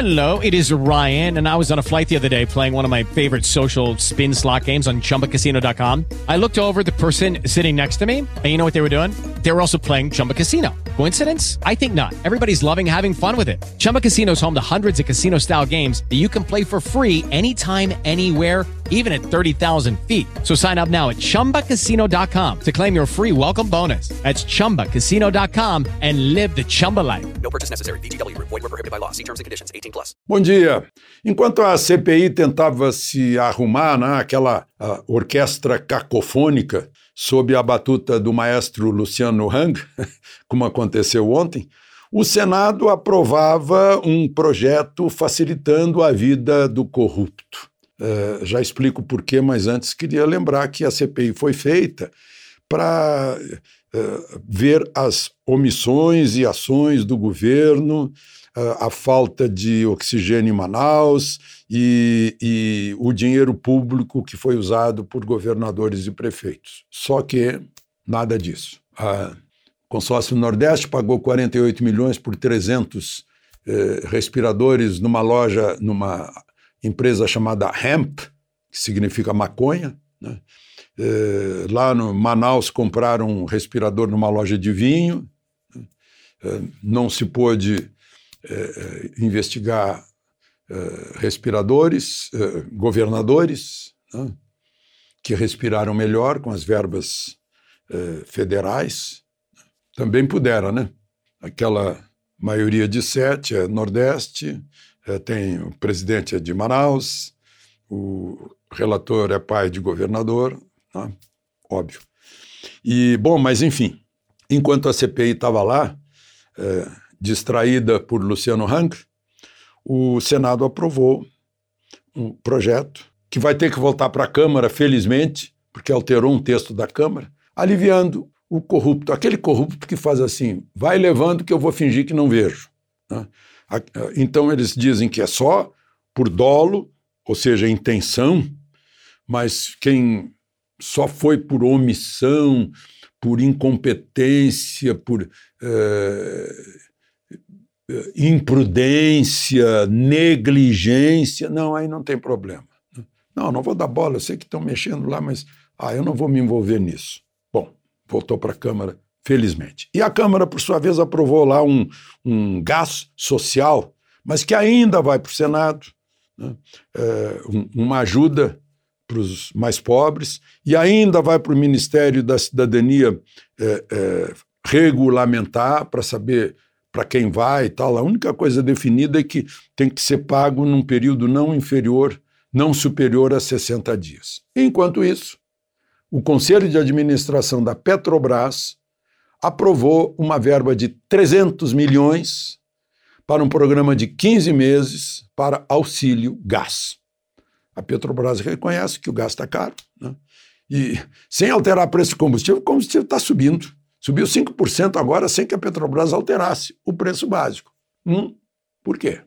Hello, it is Ryan, and I was on a flight the other day playing one of my favorite social spin slot games on ChumbaCasino.com. I looked over at the person sitting next to me, and you know what they were doing? They were also playing Chumba Casino. Coincidence? I think not. Everybody's loving having fun with it. Chumba Casino is home to hundreds of casino-style games that you can play for free anytime, anywhere, even at 30,000 feet. So sign up now at ChumbaCasino.com to claim your free welcome bonus. That's ChumbaCasino.com and live the Chumba life. No purchase necessary. VGW. Void where prohibited by law. See terms and conditions. 18+. Bom dia. Enquanto a CPI tentava se arrumar, né, aquela orquestra cacofônica sob a batuta do maestro Luciano Hang, como aconteceu ontem, o Senado aprovava um projeto facilitando a vida do corrupto. Já explico por quê, mas antes queria lembrar que a CPI foi feita para ver as omissões e ações do governo, a falta de oxigênio em Manaus e o dinheiro público que foi usado por governadores e prefeitos. Só que nada disso. O consórcio Nordeste pagou 48 milhões por 300 respiradores numa empresa chamada Hemp, que significa maconha, né? Lá no Manaus compraram um respirador numa loja de vinho, não se pôde investigar governadores, né, que respiraram melhor com as verbas federais. Também puderam, né? Aquela maioria de 7 é Nordeste, tem o presidente é de Manaus, o relator é pai de governador, né? Óbvio. Mas enfim, enquanto a CPI estava lá, distraída por Luciano Hang, o Senado aprovou um projeto que vai ter que voltar para a Câmara, felizmente, porque alterou um texto da Câmara, aliviando o corrupto, aquele corrupto que faz assim, vai levando que eu vou fingir que não vejo, né? Então eles dizem que é só por dolo, ou seja, intenção, mas quem só foi por omissão, por incompetência, por imprudência, negligência, não, aí não tem problema. Não vou dar bola, eu sei que estão mexendo lá, mas eu não vou me envolver nisso. Bom, voltou para a Câmara, felizmente. E a Câmara, por sua vez, aprovou lá um gás social, mas que ainda vai para o Senado, né? Uma ajuda para os mais pobres, e ainda vai para o Ministério da Cidadania regulamentar para saber para quem vai e tal. A única coisa definida é que tem que ser pago num período não superior a 60 dias. Enquanto isso, o Conselho de Administração da Petrobras aprovou uma verba de 300 milhões para um programa de 15 meses para auxílio gás. A Petrobras reconhece que o gás está caro, né? E sem alterar o preço do o combustível está subindo. Subiu 5% agora sem que a Petrobras alterasse o preço básico. Por quê?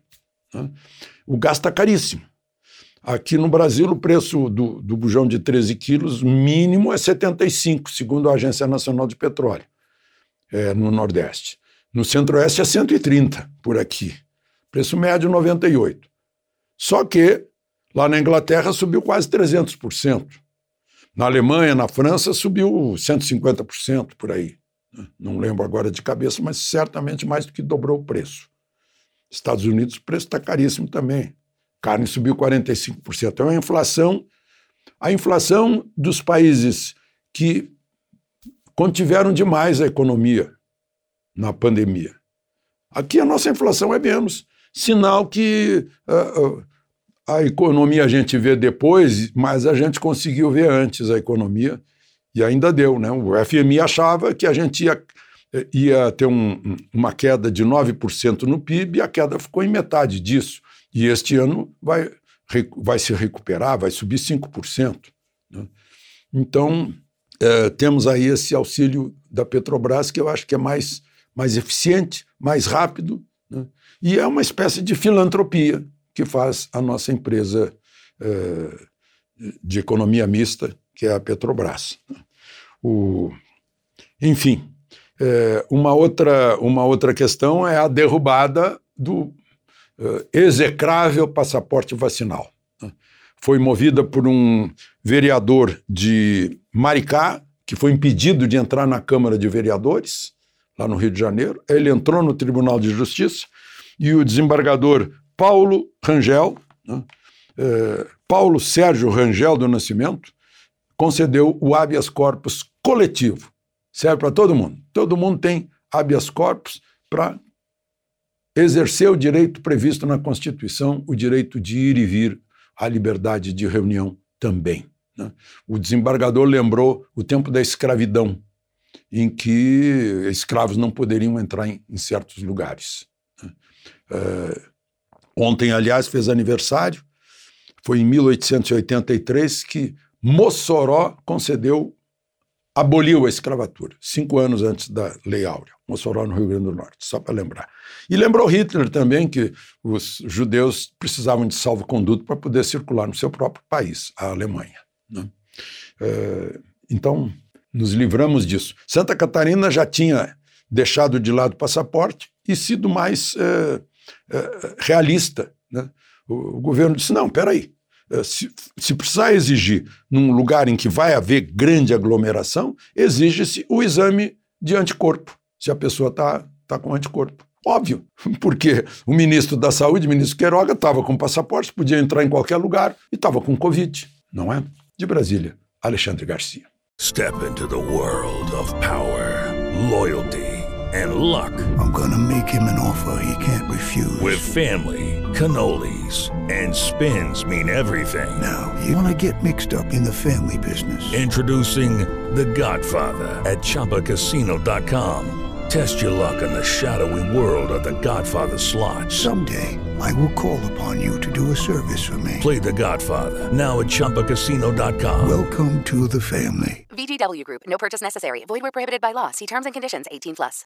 O gás está caríssimo. Aqui no Brasil, o preço do bujão de 13 quilos mínimo é 75, segundo a Agência Nacional de Petróleo, no Nordeste. No Centro-Oeste é 130 por aqui. Preço médio 98. Só que lá na Inglaterra subiu quase 300%. Na Alemanha, na França, subiu 150% por aí. Não lembro agora de cabeça, mas certamente mais do que dobrou o preço. Estados Unidos, o preço está caríssimo também. Carne subiu 45%. É uma inflação. A inflação dos países que contiveram demais a economia na pandemia. Aqui a nossa inflação é menos. Sinal que a economia a gente vê depois, mas a gente conseguiu ver antes a economia e ainda deu, né? O FMI achava que a gente ia ter uma queda de 9% no PIB e a queda ficou em metade disso. E este ano vai se recuperar, vai subir 5%. Né? Então, temos aí esse auxílio da Petrobras que eu acho que é mais eficiente, mais rápido, né? E é uma espécie de filantropia que faz a nossa empresa de economia mista, que é a Petrobras. Enfim, uma outra questão é a derrubada execrável passaporte vacinal. Foi movida por um vereador de Maricá, que foi impedido de entrar na Câmara de Vereadores, lá no Rio de Janeiro. Ele entrou no Tribunal de Justiça e o desembargador Paulo Rangel, Paulo Sérgio Rangel do Nascimento, concedeu o habeas corpus coletivo. Serve para todo mundo. Todo mundo tem habeas corpus para exercer o direito previsto na Constituição, o direito de ir e vir, a liberdade de reunião também. O desembargador lembrou o tempo da escravidão, em que escravos não poderiam entrar em certos lugares. Ontem, aliás, fez aniversário, foi em 1883 que Mossoró aboliu a escravatura, 5 anos antes da Lei Áurea, Mossoró no Rio Grande do Norte, só para lembrar. E lembrou Hitler também que os judeus precisavam de salvo-conduto para poder circular no seu próprio país, a Alemanha. Então, nos livramos disso. Santa Catarina já tinha deixado de lado o passaporte e sido mais realista. O governo disse, não, peraí, se precisar exigir num lugar em que vai haver grande aglomeração, exige-se o exame de anticorpo, se a pessoa está com anticorpo. Óbvio, porque o ministro da Saúde, o ministro Queiroga, estava com passaporte, podia entrar em qualquer lugar e estava com Covid, não é? De Brasília, Alexandre Garcia. Step into the world of power, loyalty, and luck. I'm gonna make him an offer he can't refuse. With family, cannolis, and spins mean everything. Now, you wanna get mixed up in the family business. Introducing The Godfather at ChumbaCasino.com. Test your luck in the shadowy world of The Godfather slot. Someday, I will call upon you to do a service for me. Play The Godfather, now at ChumbaCasino.com. Welcome to the family. VGW Group. No purchase necessary. Void where prohibited by law. See terms and conditions. 18+.